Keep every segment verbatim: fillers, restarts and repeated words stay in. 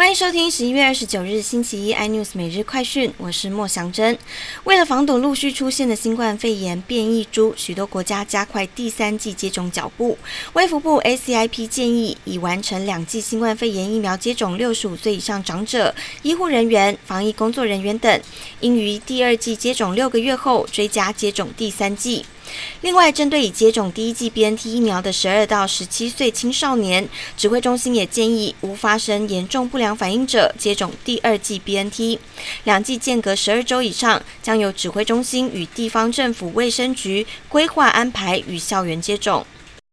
欢迎收听十一月二十九日星期一 iNews 每日快讯，我是莫祥珍。为了防堵陆续出现的新冠肺炎变异株，许多国家加快第三剂接种脚步。卫福部 A C I P 建议，已完成两剂新冠肺炎疫苗接种六十五岁以上长者、医护人员、防疫工作人员等，应于第二剂接种六个月后追加接种第三剂。另外，针对已接种第一剂 B N T 疫苗的十二到十七岁青少年，指挥中心也建议无发生严重不良反应者接种第二剂 B N T， 两剂间隔十二周以上，将由指挥中心与地方政府卫生局规划安排与校园接种。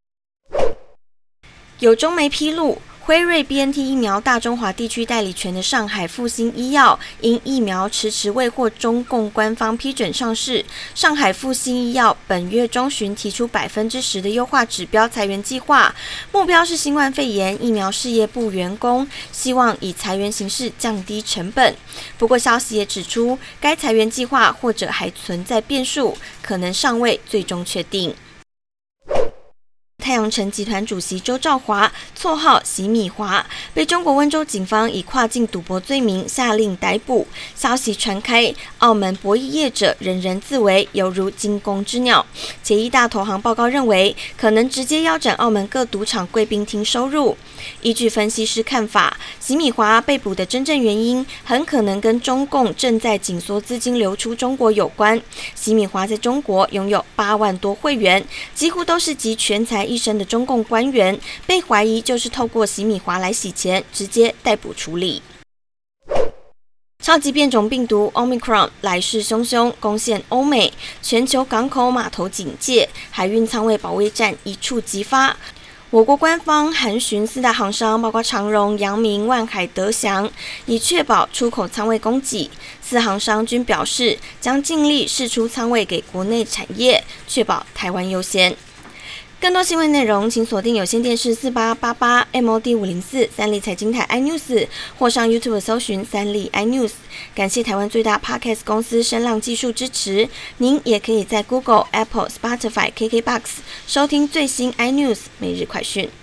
有中媒披露，辉瑞 B N T 疫苗大中华地区代理权的上海复星医药，因疫苗迟迟未获中共官方批准上市，上海复星医药本月中旬提出百分之十的优化指标裁员计划，目标是新冠肺炎疫苗事业部员工，希望以裁员形式降低成本。不过，消息也指出，该裁员计划或者还存在变数，可能尚未最终确定。太阳城集团主席周兆华，绰号洗米华，被中国温州警方以跨境赌博罪名下令逮捕。消息传开，澳门博弈业者人人自危，犹如惊弓之鸟。且一大投行报告认为，可能直接腰斩澳门各赌场贵宾厅收入。依据分析师看法，洗米华被捕的真正原因，很可能跟中共正在紧缩资金流出中国有关。洗米华在中国拥有八万多会员，几乎都是集全才一身的中共官员，被怀疑就是透过洗米华来洗钱，直接逮捕处理。超级变种病毒 Omicron 来势汹汹，攻陷欧美，全球港口码头警戒，海运仓位保卫战一触即发。我国官方函询四大航商，包括长荣、阳明、万海、德祥，以确保出口仓位供给。四航商均表示，将尽力释出仓位给国内产业，确保台湾优先。更多新闻内容，请锁定有线电视四八八八 M O D 五零四三立财经台 iNews， 或上 YouTube 搜寻三立 iNews。感谢台湾最大 Podcast 公司声浪技术支持。您也可以在 Google、Apple、Spotify、K K B O X 收听最新 iNews 每日快讯。